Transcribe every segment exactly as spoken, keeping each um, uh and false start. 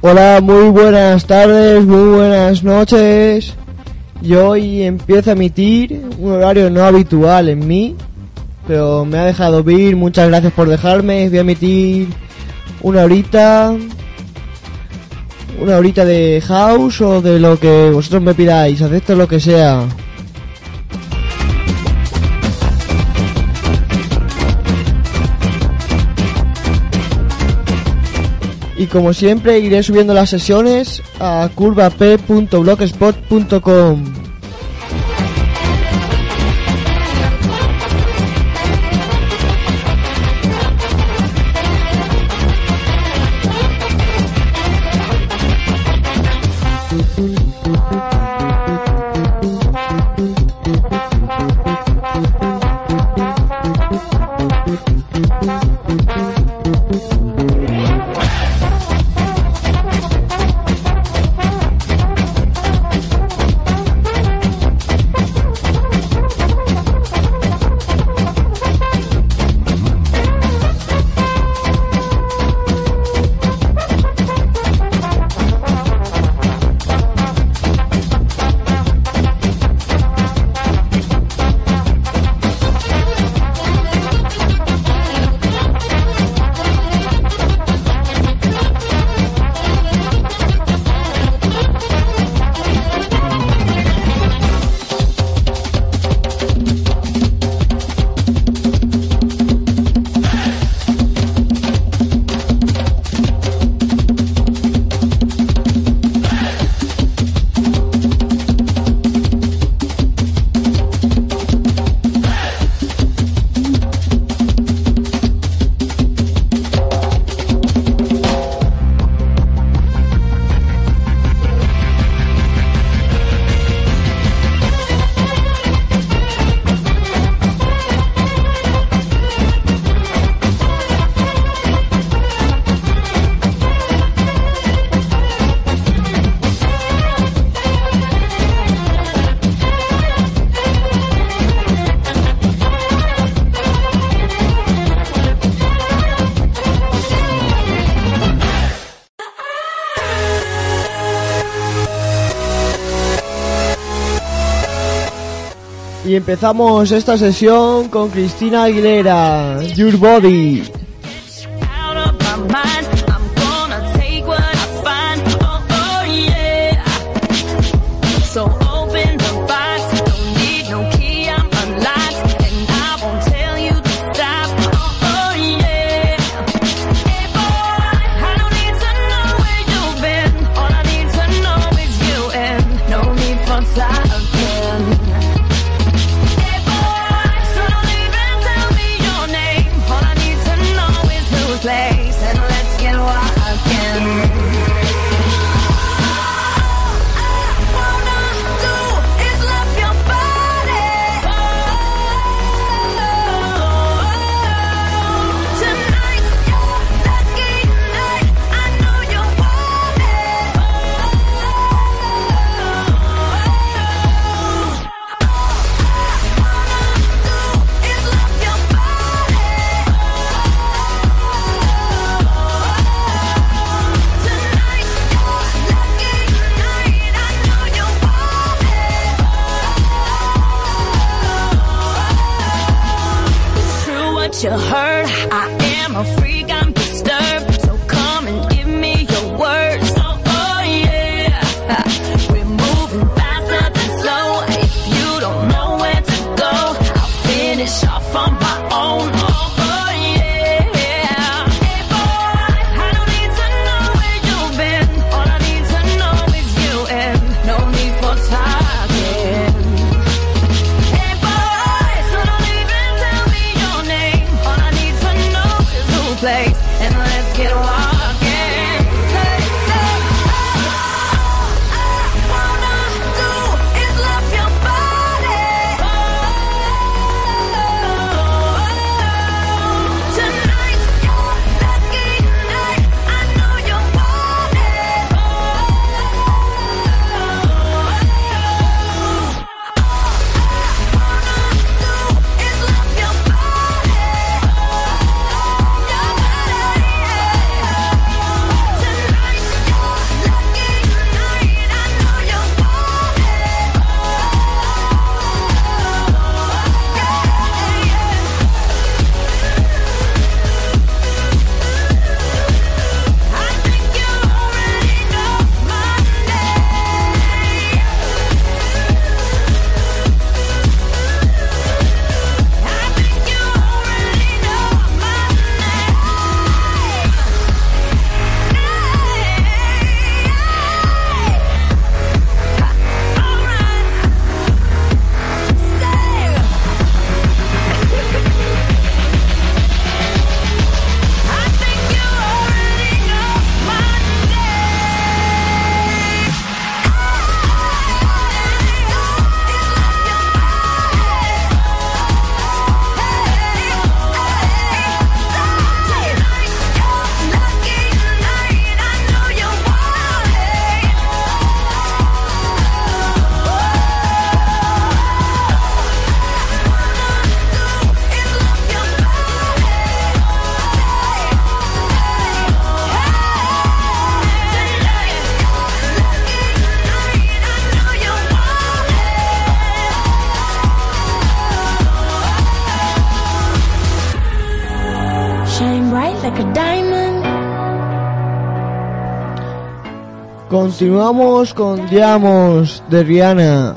Hola, muy buenas tardes, muy buenas noches. Y hoy empiezo a emitir un horario no habitual en mí, pero me ha dejado vir, muchas gracias por dejarme. Voy a emitir una horita, una horita de house o de lo que vosotros me pidáis, acepto lo que sea. Y como siempre iré subiendo las sesiones a curvap punto blogspot punto com. Y empezamos esta sesión con Cristina Aguilera, Your Body. You heard, I am a freak, I'm disturbed, so come and give me your words. Oh, oh yeah, we're moving faster than slow. If you don't know where to go, I'll finish off on my own. Oh, oh yeah, hey boy, I don't need to know where you've been. All I need to know is you, and no need for talking. Hey boy, so don't even tell me your name. All I need to know is who plays. Continuamos con Diamos de Rihanna.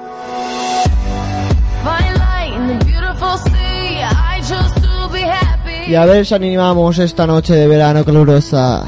Y a ver si animamos esta noche de verano calurosa.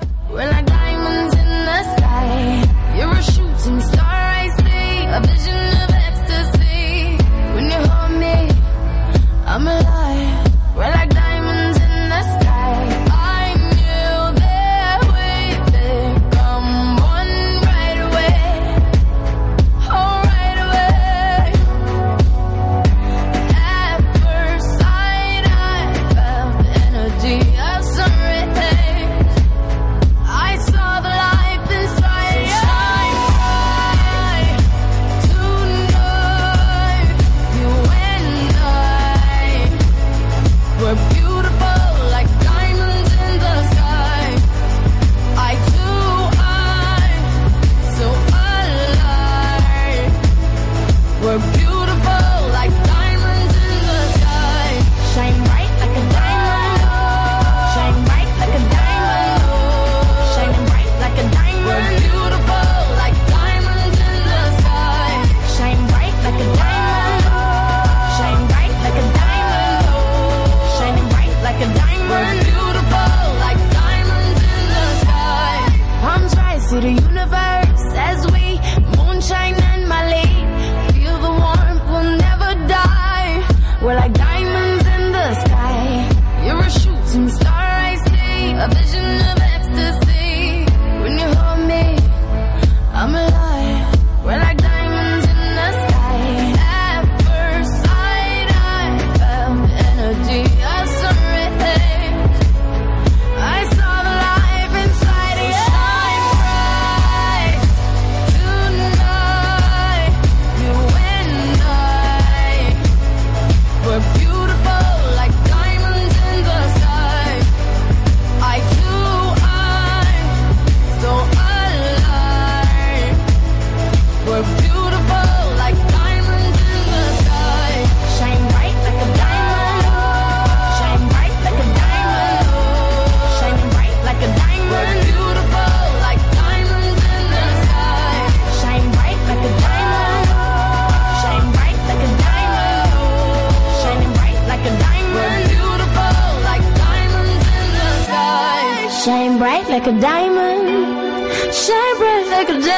Like a diamond, shine bright like a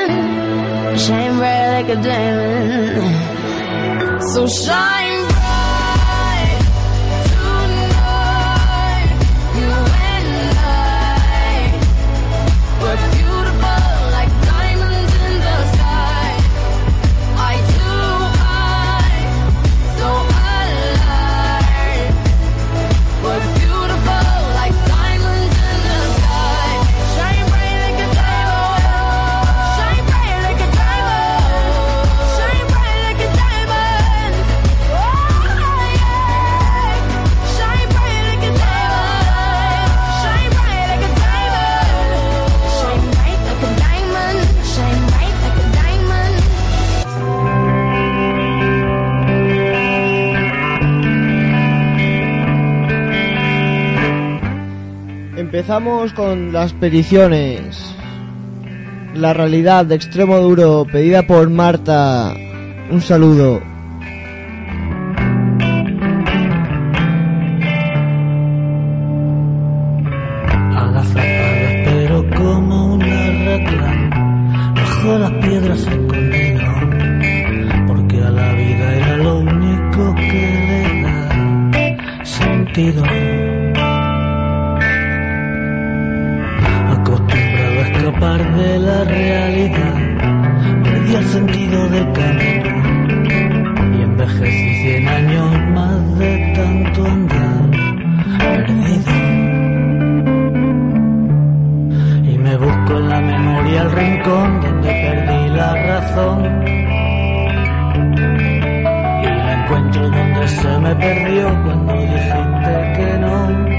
diamond, shine bright like a diamond. So shine bright tonight, you and I. We're beautiful like diamonds in the sky. Eye to eye, so alive. We're beautiful like diamonds in the sky. Shine bright like a diamond, shine bright like a diamond, shine bright like a diamond. Oh yeah, shine bright like a diamond, shine bright like a diamond, shine bright like a diamond, shine bright like a diamond. Empezamos con las peticiones. La realidad de Extremo Duro, pedida por Marta. Un saludo. Agazapada pero como una reclama, bajo las piedras escondido, porque a la vida era lo único que le da sentido. Acostumbrado a escapar de la realidad, perdí el sentido del camino y envejecí cien años más de tanto andar perdido. Y me busco en la memoria el rincón donde perdí la razón, y la encuentro donde se me perdió cuando dijiste que no.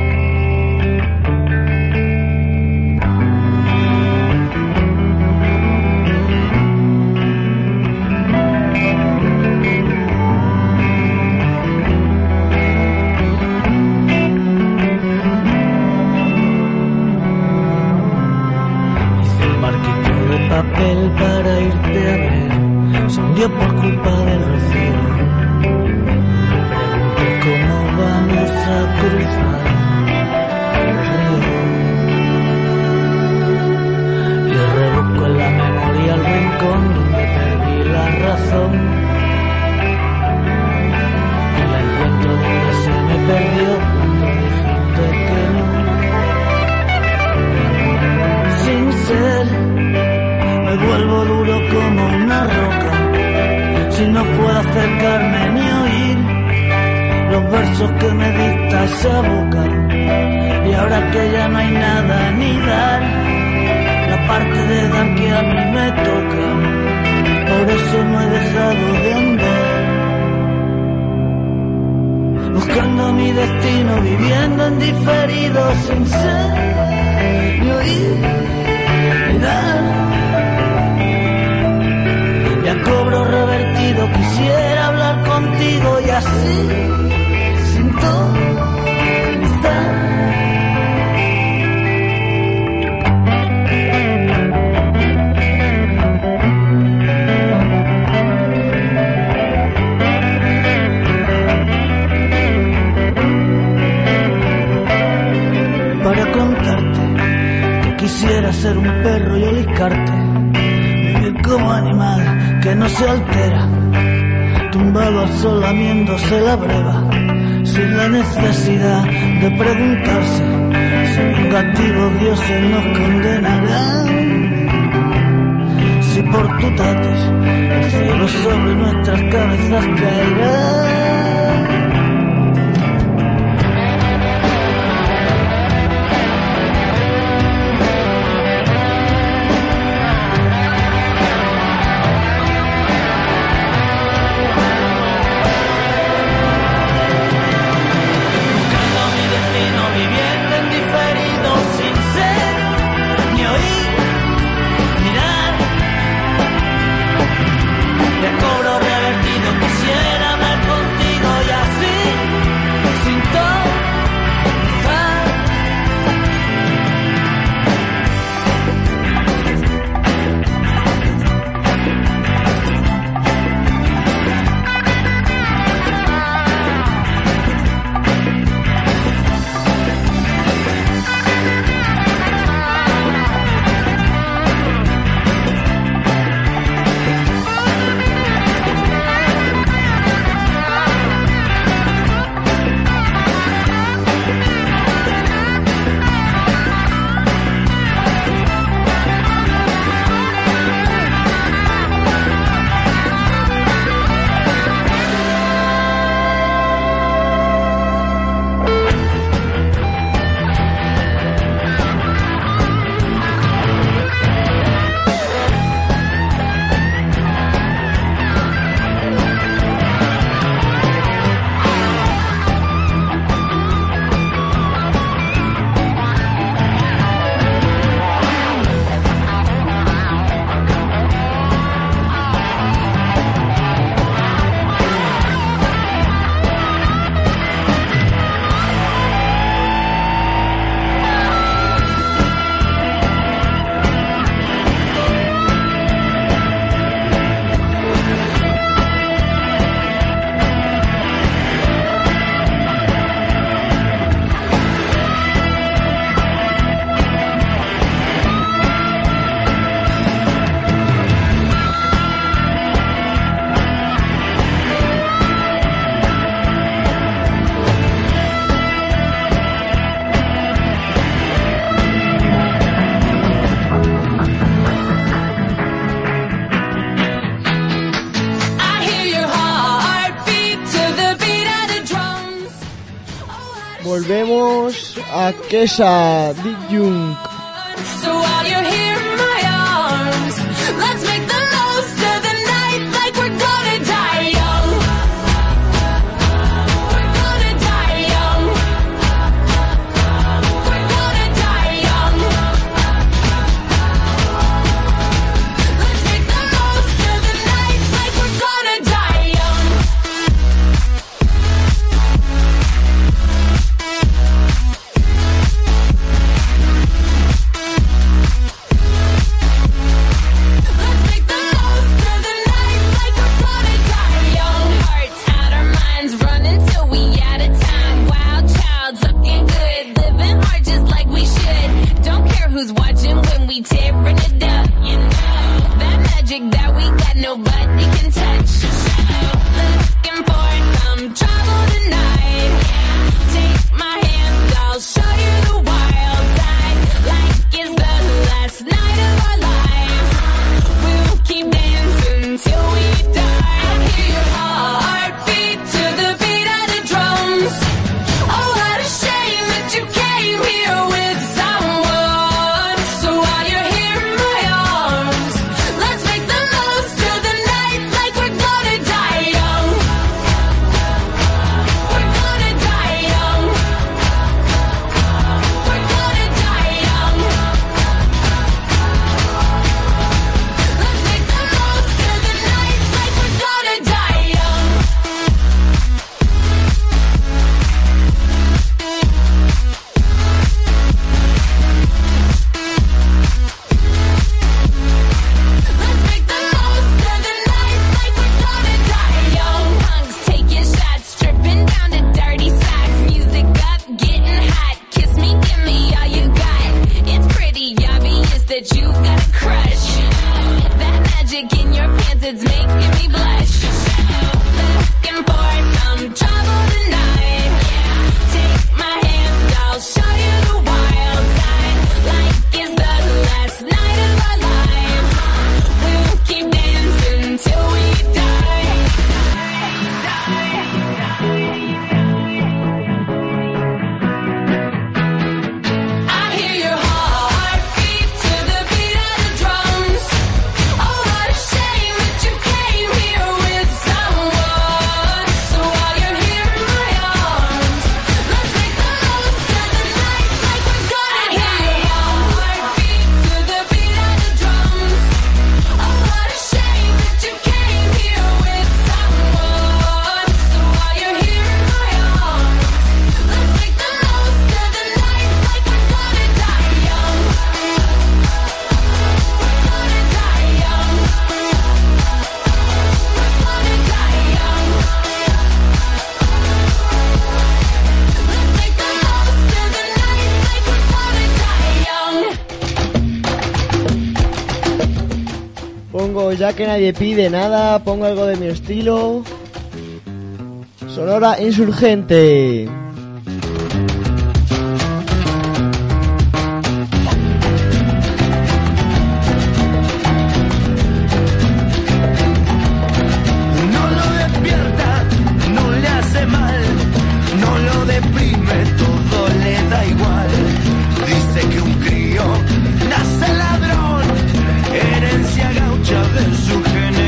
Hice el marquito para irte a ver se hundió por culpa del rocío. Me pregunto cómo vamos a cruzar el río. Y rebusco en la memoria el rincón donde perdí la razón. Y la encuentro donde se me perdió cuando dijiste que no. Sin ser, me vuelvo duro como una roca. Si no puedo acercarme ni oír los versos que me dicta esa boca. Y ahora que ya no hay nada ni dar, la parte de dar que a mí me toca, por eso no he dejado de andar. Buscando mi destino, viviendo en diferido, sin ser ni oír ni dar. Ya cobro revertido, quisiera hablar contigo y así sintonizar. Para contarte que quisiera ser un perro y oliscarte, vivir como animal que no se altera, tumbado al sol lamiéndose la breva, sin la necesidad de preguntarse si vengativos dioses nos condenarán. Si por tu tatis el cielo sobre nuestras cabezas caerá. Volvemos a Kesha Dijung. So while you're here in my arms, let's make the most of the night like we're gonna die young. We're gonna die young. We're gonna die young. Let's make the most of the night like we're gonna die young. nobody can touch. Looking for some trouble tonight. Take my hand, I'll show you the wild side. Like it's the last night of our lives. We'll keep dancing till we die. I hear your heartbeat to the beat of the drums. Oh, what a shame that you came here with someone. So while you're here in my arms, let's make the most of the night like we're gonna die young. We're gonna die young. We're gonna die young. Let's make the most of the night like we're gonna die young. Let's make the most of the night like we're gonna die young. Punks taking shots, stripping down to dirty socks. Music up, getting hot. Kiss me, give me all you got. It's pretty obvious that you got a crush. That magic in your pants, it's making me blush. Looking for some trouble tonight. Take my hand, I'll show you the wild side. Like it's the last night of our lives. We'll keep dancing till we die. I hear your heartbeat to the beat of the drums. Oh, what a shame that you came here with someone. So while you're here in my arms, let's make the most of the night like we're gonna die young. Heartbeat to the beat of the drums. Oh, what a shame that you came here with someone. So while you're here in my arms, let's make the most of the night like we're gonna die young. We're gonna die young. We're gonna die young. Let's make the most of the night like we're gonna die young. Pongo, ya que nadie pide nada, pongo algo de mi estilo. Sonora Insurgente. No lo despierta, no le hace mal, no lo deprime, todo le da igual. Dice que un crío nace ladrón, herencia gaucha de su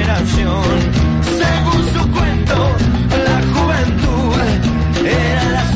generación. Según su cuento, la juventud era la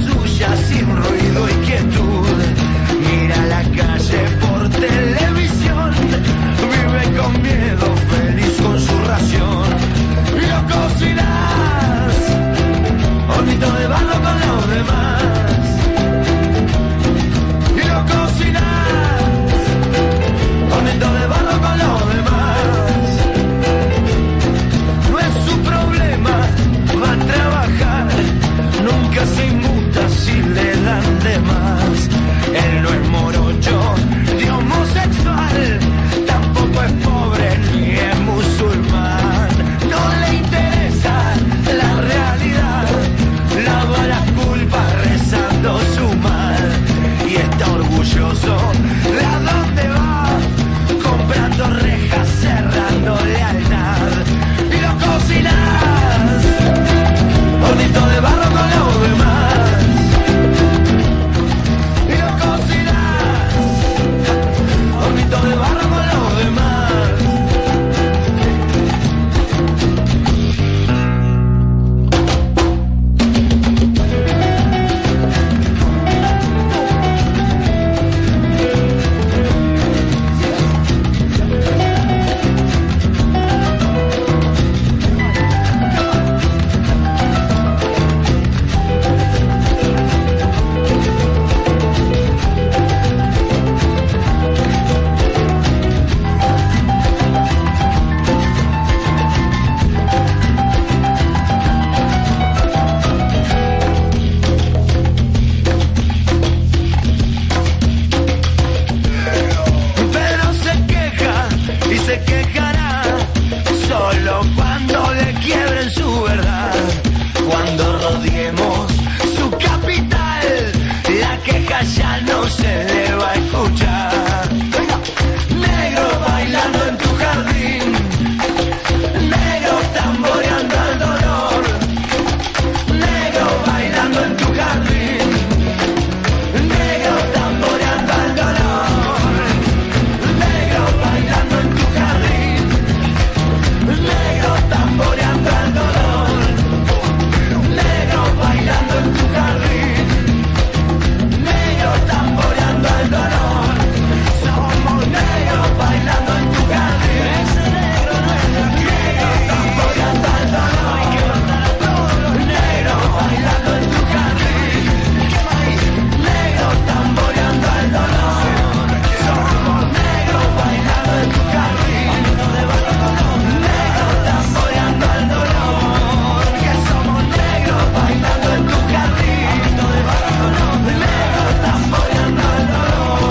solo cuando le quiebren su verdad, cuando rodeemos su capital, la queja ya no se le va a escuchar. Negro bailando en tu jardín, negro tamboreando el dolor, negro bailando en tu jardín, negro tamboreando el dolor, negro bailando en tu jardín, negro tamboreando el dolor, negro bailando en tu jardín, negro tamboreando el dolor. Somos negros bailando en tu jardín, negro tamboreando el dolor, negro bailando en tu jardín, negro tamboreando el dolor. Somos negros bailando en tu jardín, negro tamboreando el dolor, que somos negros bailando en tu jardín, negro tamboreando el dolor.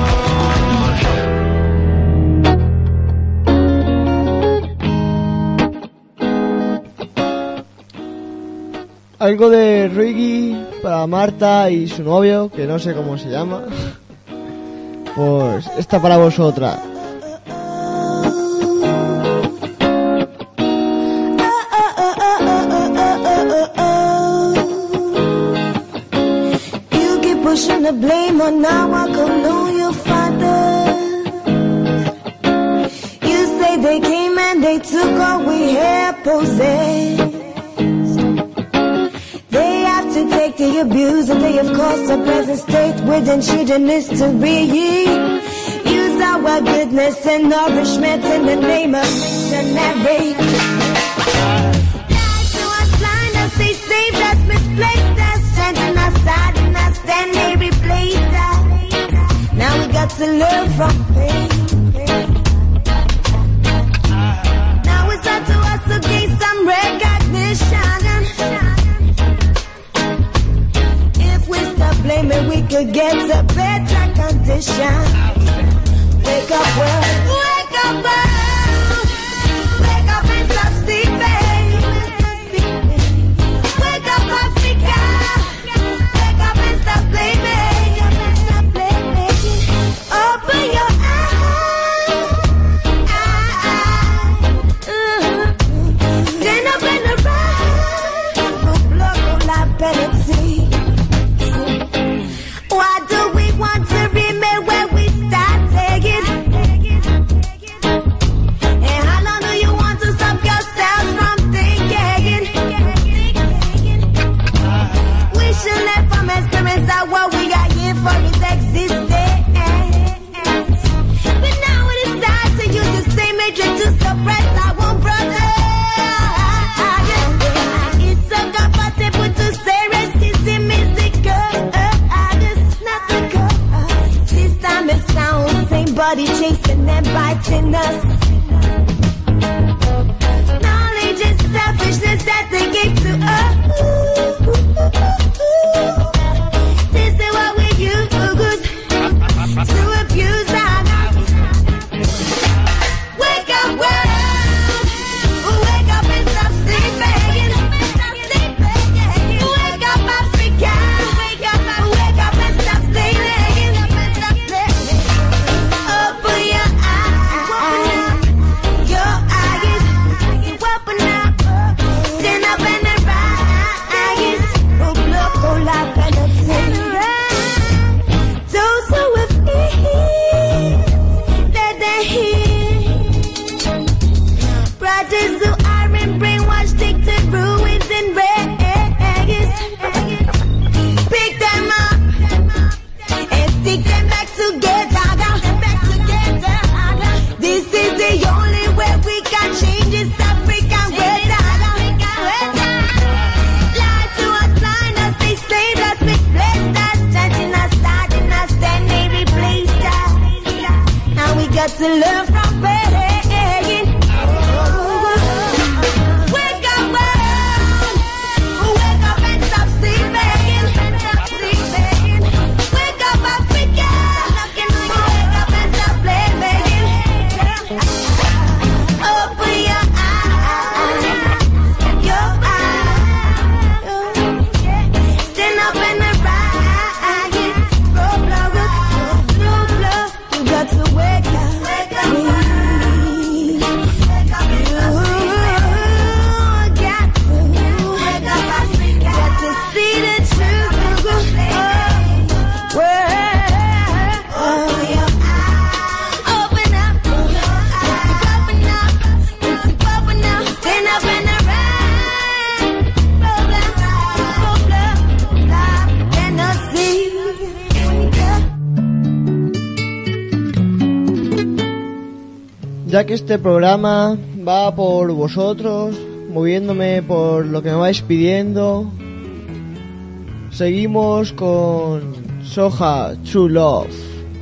Algo de reggae para Marta y su novio, que no sé cómo se llama. Pues esta para vosotras. You keep pushing the blame on now I can know your father. You say they came and they took all we had possessed. They have to take the abuse and they have caused a present state within children history. Use our goodness and nourishment in the name of missionary. Lies to us, blind us, they saved us, misplaced us, strengthened us, saddened us, then they replaced us. Now we got to learn from pain. Now it's up to us to gain some recognition. Blaming, we could get a better condition. Wake up, world. Wake up, world. Wake up and stop sleeping. Wake up, Africa. Wake up and stop blaming. Open your eyes. Stand up and arise. Blood on la penalty. Why do we want to remain where we started? And how long do you want to stop yourselves from thinking? We should learn from experience that what we are here for is existence. But now it is time to use the same hatred to suppress our own brother. It's so comfortable to say racism is the good. Body chasing and biting us. Knowledge is selfishness that they give to us. This is what we use to abuse us. Wake up, world. Wake up and stop sleeping. Wake up, Africa. Wake up, wake up and stop sleeping. Open your eyes. ya que este programa va por vosotros, moviéndome por lo que me vais pidiendo, seguimos con Soja True Love.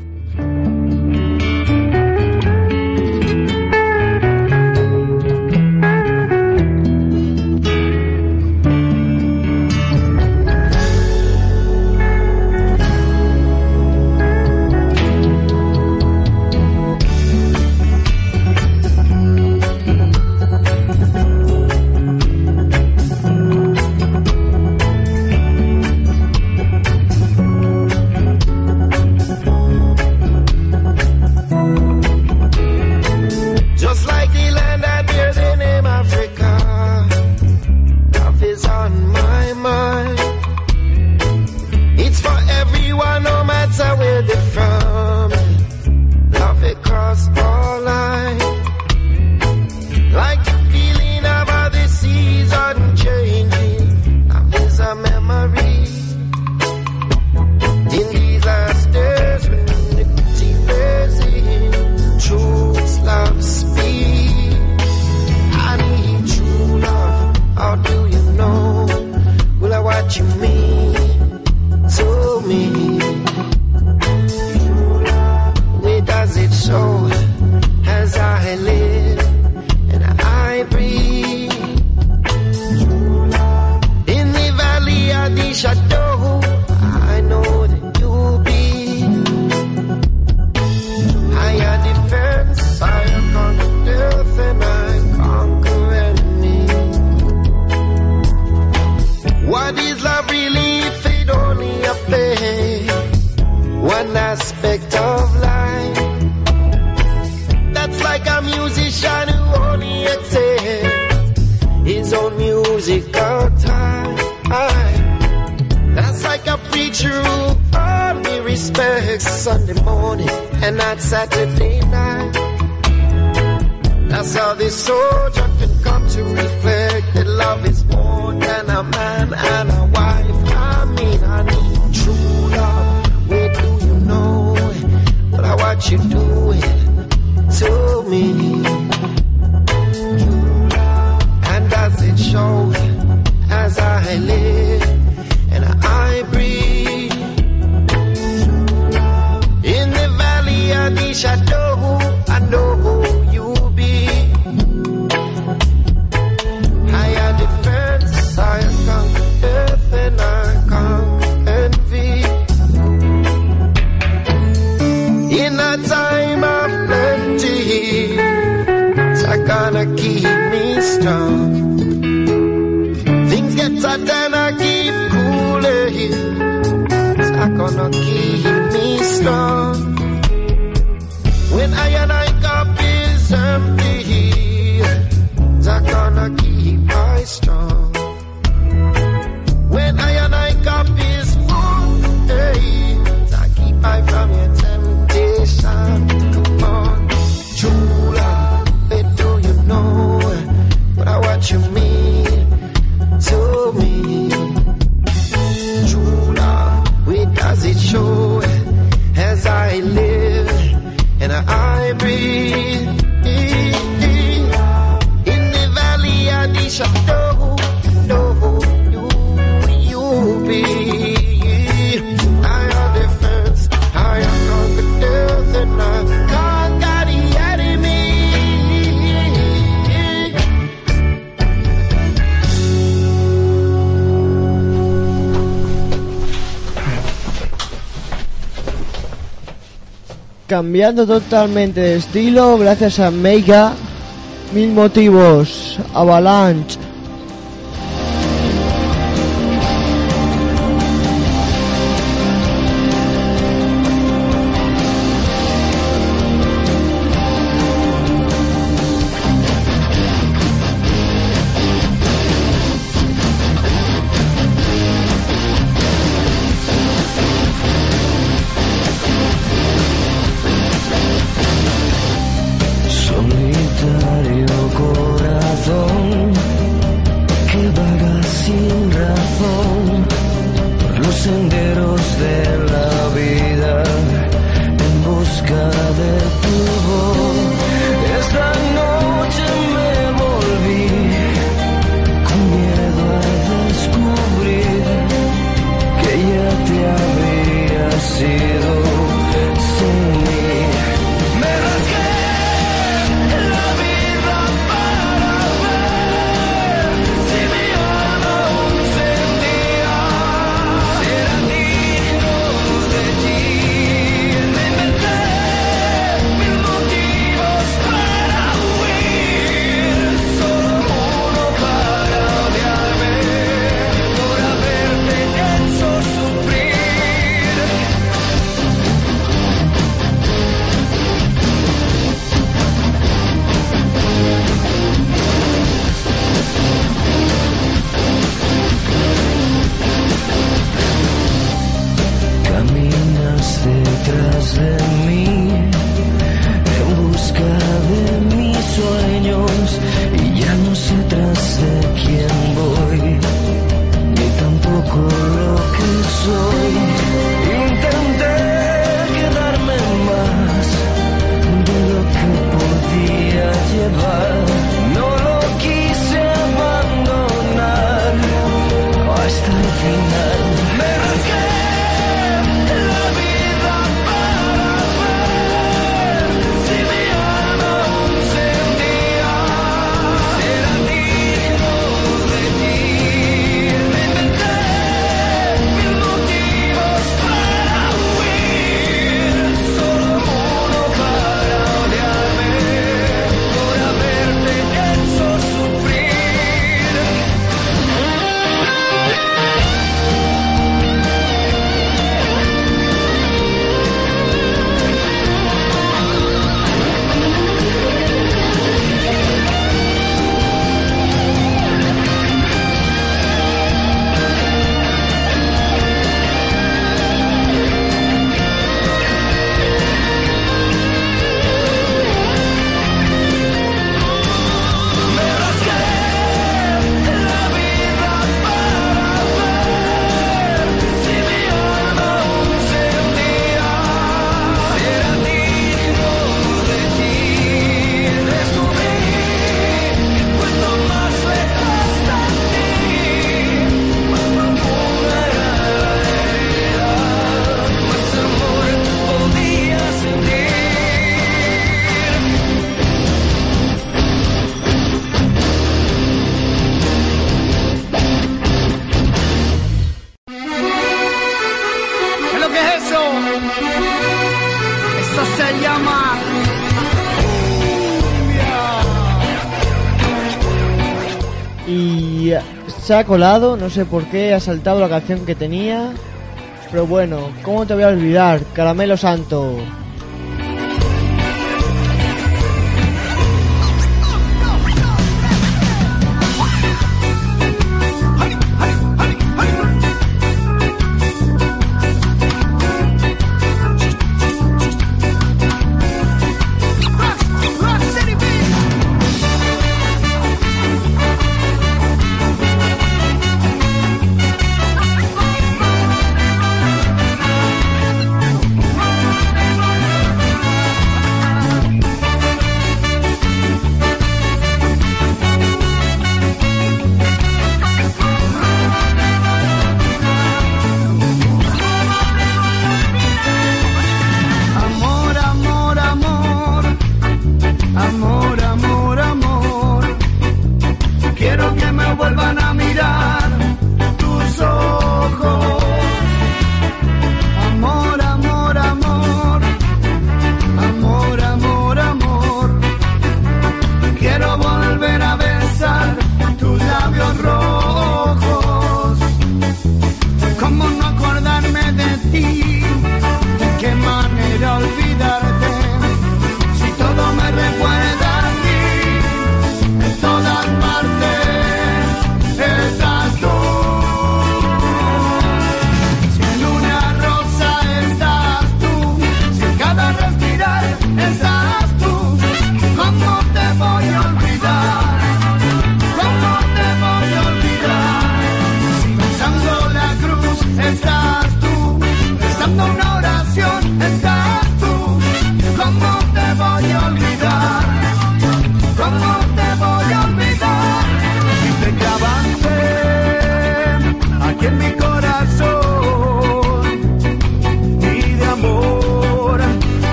Sunday morning and not Saturday night. That's how this soldier can come to reflect that love is more than a man and a wife. I mean, I need true love. Where do you know it? But I watch you do it to me. And does it show as I live and I breathe? In the valley of the shadow, I know who you be. Higher defense, I conquer death and I conquer envy. In a time of plenty, it's gonna keep me strong. Things get tight and I keep cooling. It's gonna keep me strong. When I and I cup is empty, it's gonna keep I strong. When I and I cup is full, hey, I keep I from your temptation. Come on, true love, where do you know what I what you mean to me? True love, where does it show as I live and I breathe? In the valley of the shadow, no, you, you be. I am defense, I am conquer death and I conquer the enemy. Cambiando totalmente de estilo gracias a Mega, Mil Motivos, Avalanche. Solitario corazón y se ha colado, no sé por qué, ha saltado la canción que tenía. Pero bueno, ¿cómo te voy a olvidar? Caramelo Santo.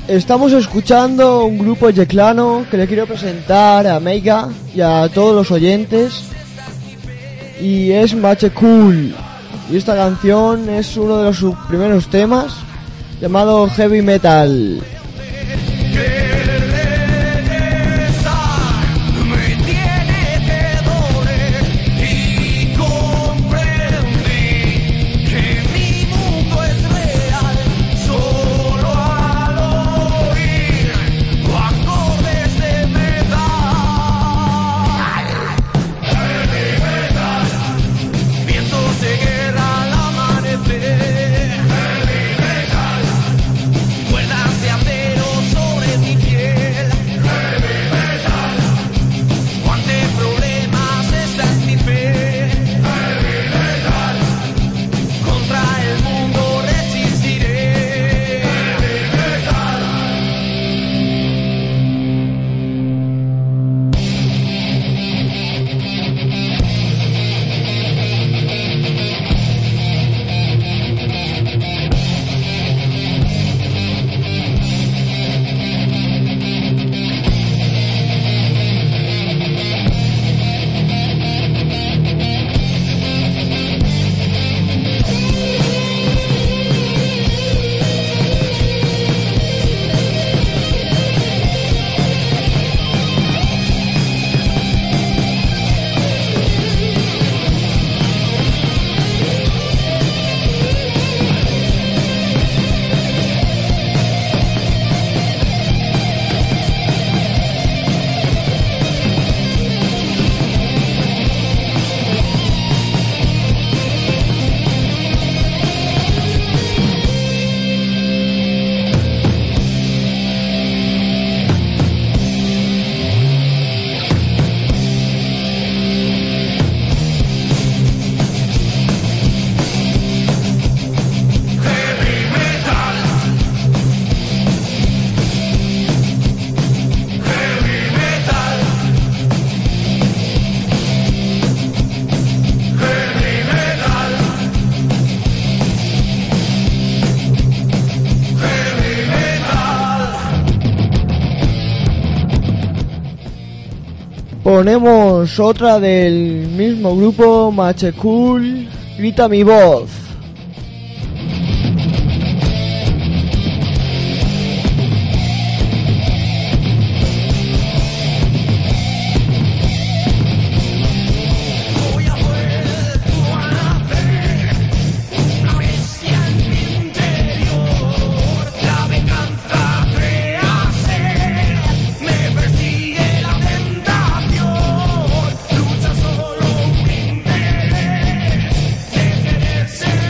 Estamos escuchando un grupo yeclano que le quiero presentar a Meiga y a todos los oyentes, y es Mache Cool, y esta canción es uno de los sus primeros temas llamado Heavy Metal. Ponemos otra del mismo grupo, Mache Cool, Grita mi voz. Lucha solo un interés de querer ser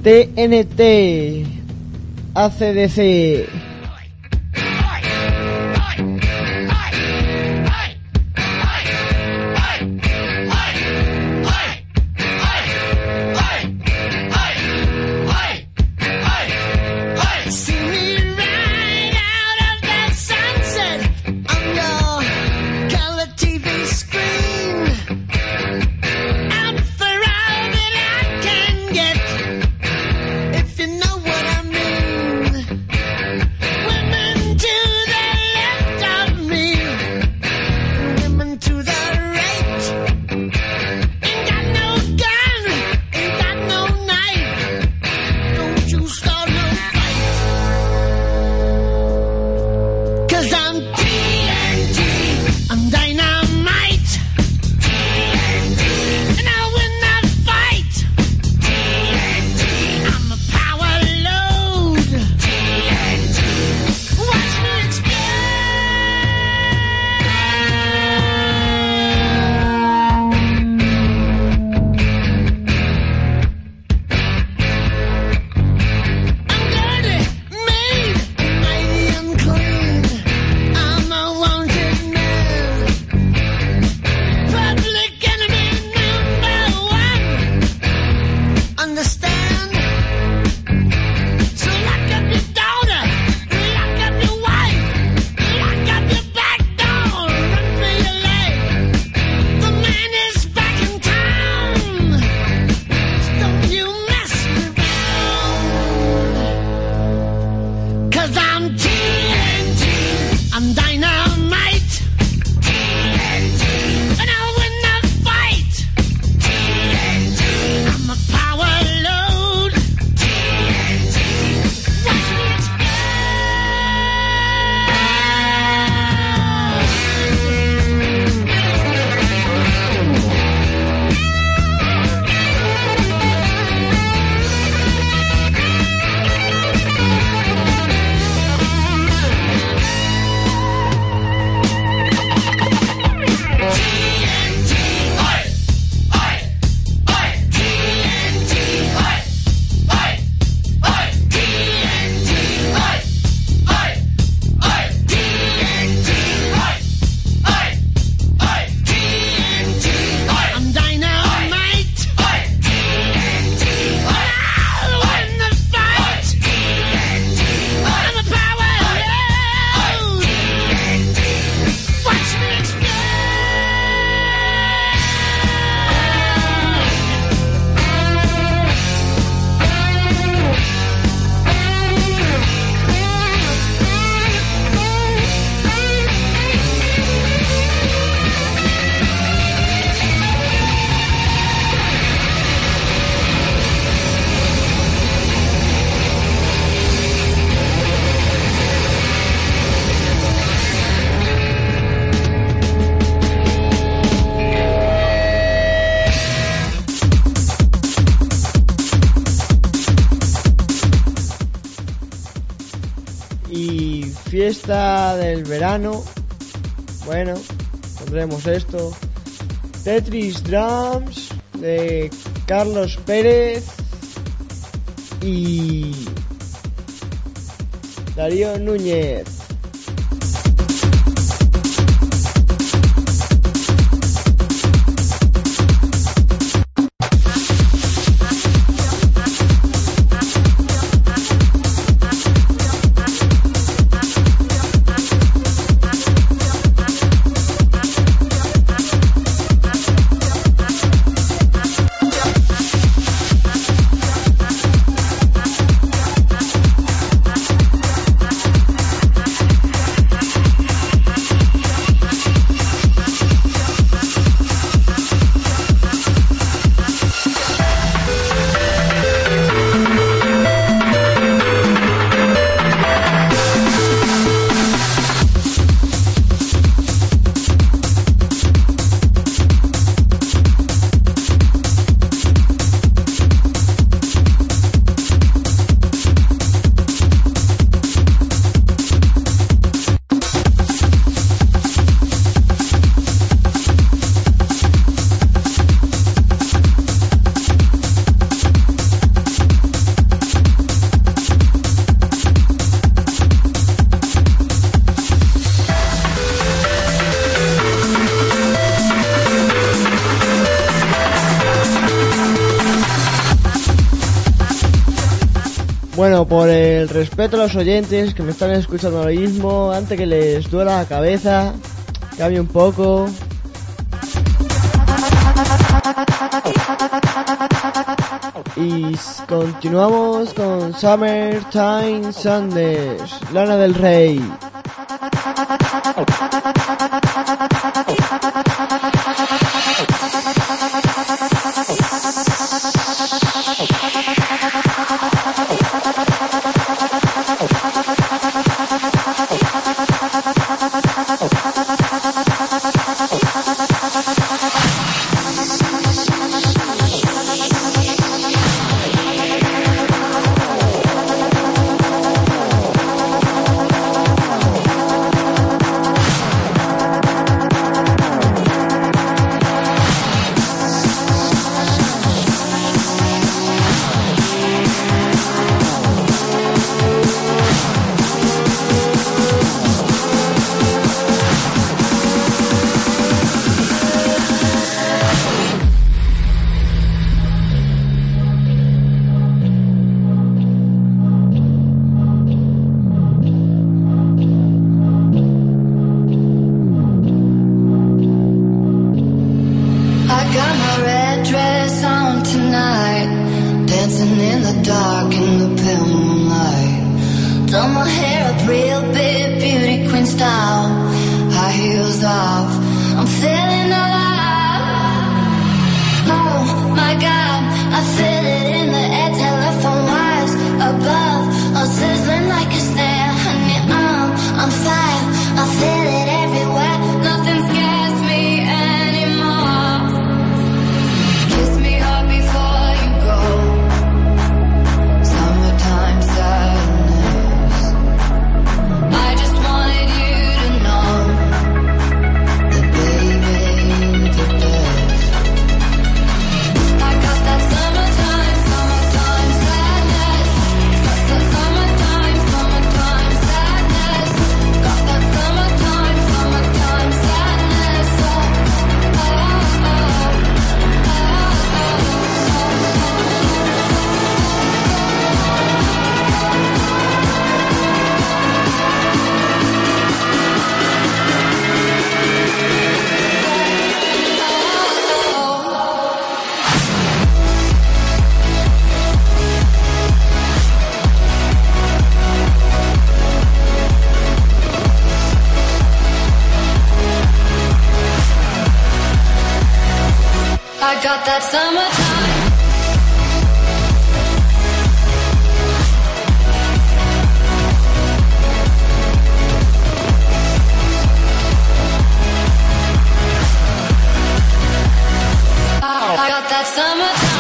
T N T, A C D C. Fiesta del verano. Bueno, pondremos esto. Tetris Drums de Carlos Pérez y Darío Núñez. Bueno, por el respeto a los oyentes que me están escuchando ahora mismo, antes que les duela la cabeza, cambie un poco. Y continuamos con Summertime Sadness, Lana del Rey. Got that summertime. I got that summertime.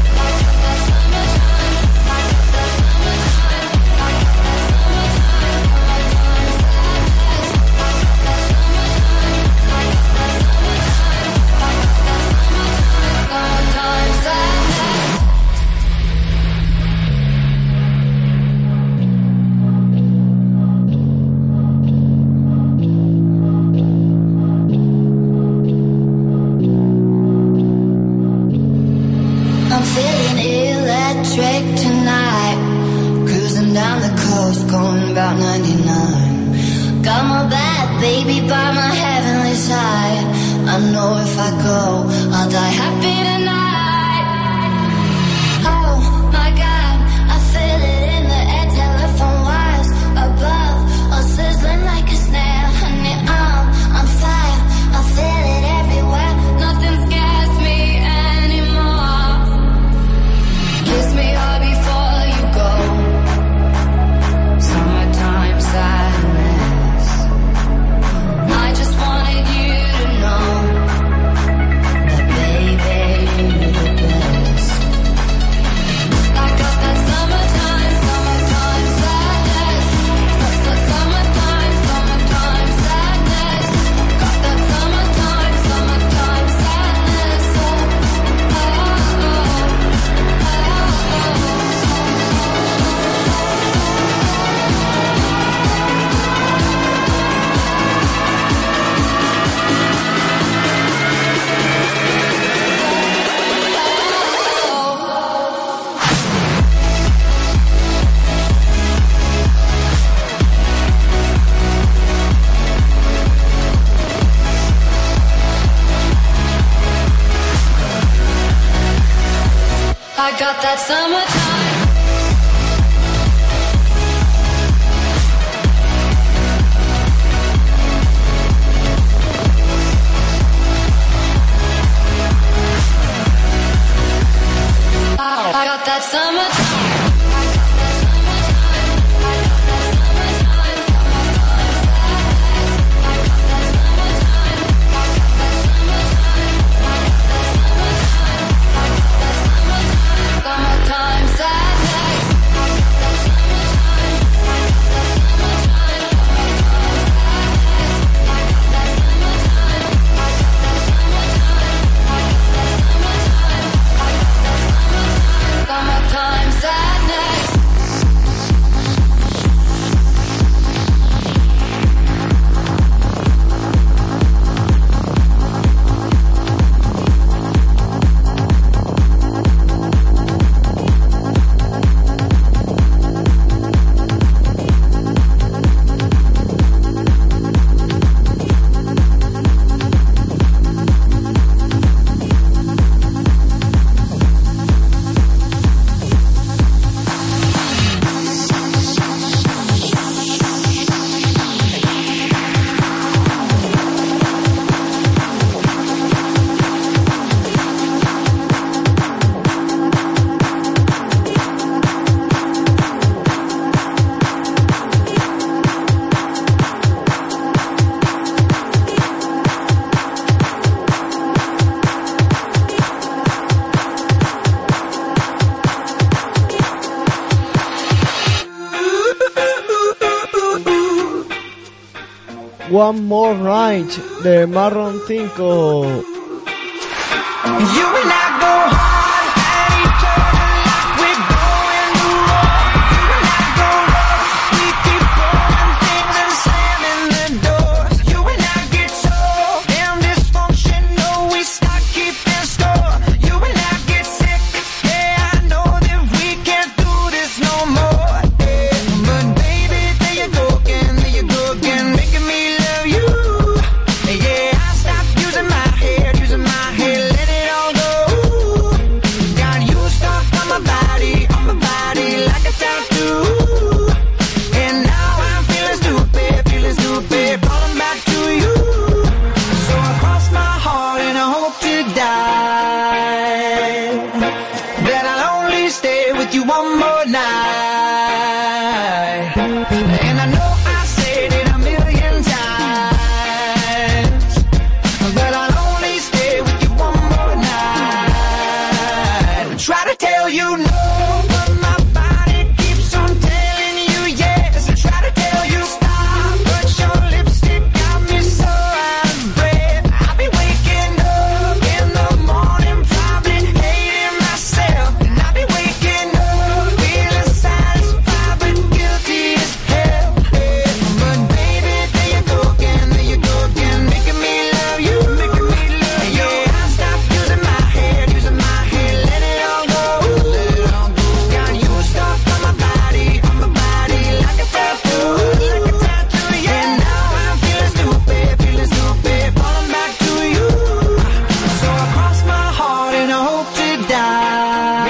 About ninety-nine. Got my bad baby by my heavenly side. I know if I go, I'll die happy tonight. Oh my God, I feel it in the air, telephone wires above, all sizzling like a snail. Honey, I'm on fire, I feel it everywhere. Nothing scares me anymore. Kiss me hard before you go. Summertime sadness. I just wanted you to know that baby I got that summertime. I got that summertime. Summertime sadness. Summertime sadness. One More Night de Marron cinco. You and I go hard at each other like we're going to war. You and I go rough, we keep throwing things and slamming the doors. You and I get so damn dysfunctional, we start keeping score. You and I get sick, yeah, I know that we can't do this no more. Yeah. But baby, there you go again, there you go again, making me love you. Yeah, I stopped using my head, using my head, let it all go. Got you stuck on my body, on my body like a tattoo. And now I'm feeling stupid, feeling stupid, calling back to you. So I cross my heart and I hope to die that I'll only stay with you one more night. And I know I said it a million times, but I'll only stay with you one more night. Try to tell you no, but my body keeps on telling you yes. I try to tell you stop, but your lipstick got me so out of breath. I'll be waking up in the morning, probably hating myself. And I'll be waking up feeling satisfied but guilty as hell. But baby, there you go again, there you go again, making me love you, making me love you. Yeah, I stopped using my head, using my head, let it all go, let it all go. Got you stuck on my body, on my body like a tattoo, like a tattoo. Yeah, and now I'm feeling stupid, feeling stupid, falling back to you. So I cross my heart and I hope to die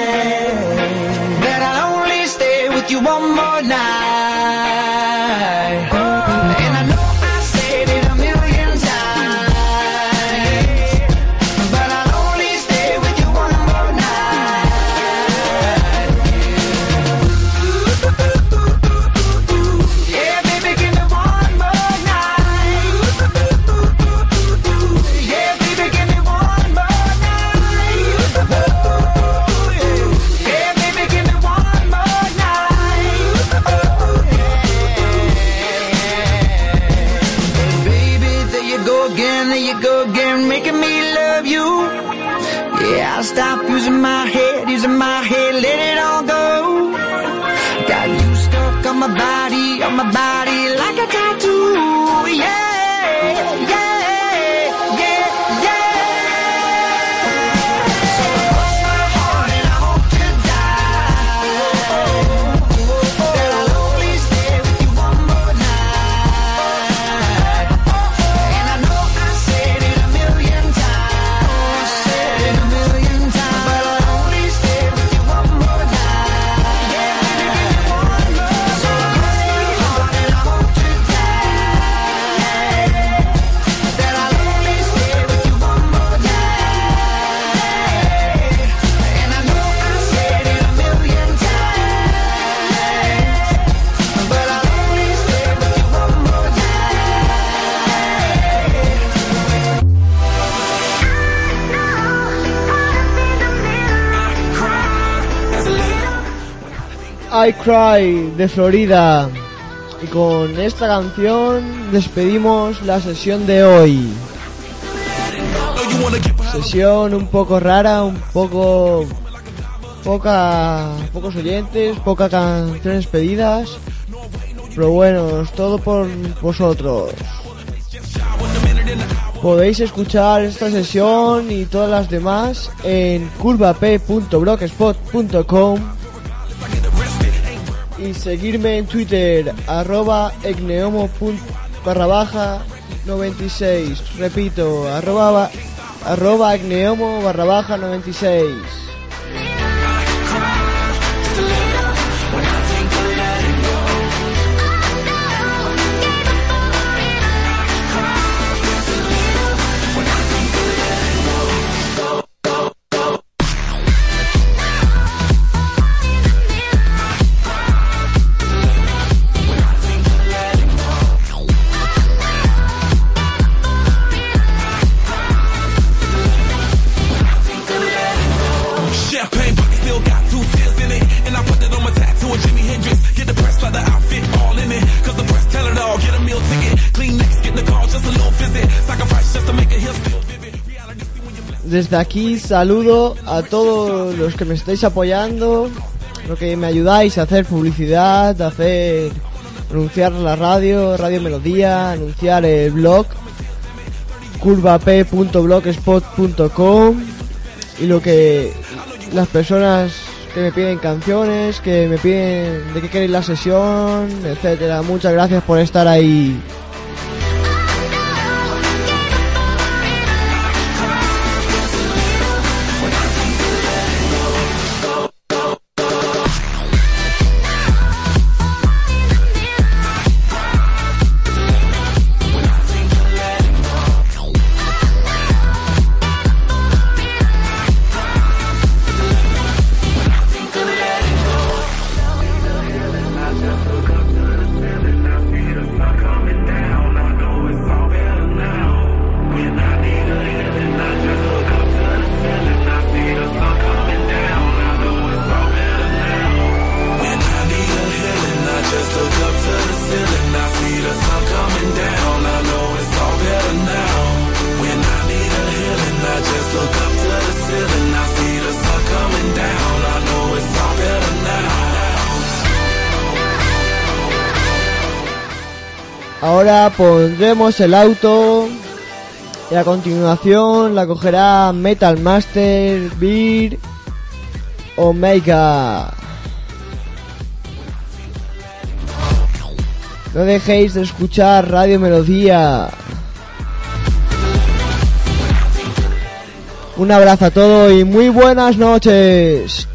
that I'll only stay with you one more night. And I know I said it a million times, but I'll only stay with you one more night. Yeah, baby, give me one more night. Yeah, baby, give me one more night. Yeah, baby, give me one more night. Baby, there you go again, there you go again, making me love you. Yeah, I'll stop using my head, using my head, let it all go. Got you stuck on my body, on my body like a tattoo. Yeah, yeah, yeah, yeah. So I cross my heart and I hope to die that I'll only stay with you one more night. And I know I said it a million times, said it a million times, but I'll only stay I Cry de Florida. Y con esta canción despedimos la sesión de hoy. Sesión un poco rara, un poco... Poca, pocos oyentes, pocas canciones pedidas. Pero bueno, es todo por vosotros. Podéis escuchar esta sesión y todas las demás en curvap punto blogspot punto com y seguirme en Twitter arroba egneomo barra baja noventa y seis. Repito, arroba, arroba egneomo barra baja noventa y seis. Desde aquí saludo a todos los que me estáis apoyando, los que me ayudáis a hacer publicidad, a hacer anunciar la radio, Radio Melodía, anunciar el blog curvap punto blogspot punto com y lo que las personas que me piden canciones, que me piden de qué queréis la sesión, etcétera. Muchas gracias por estar ahí. Ahora pondremos el auto y a continuación la cogerá Metal Master, Beer, Omega. No dejéis de escuchar Radio Melodía. Un abrazo a todos y muy buenas noches.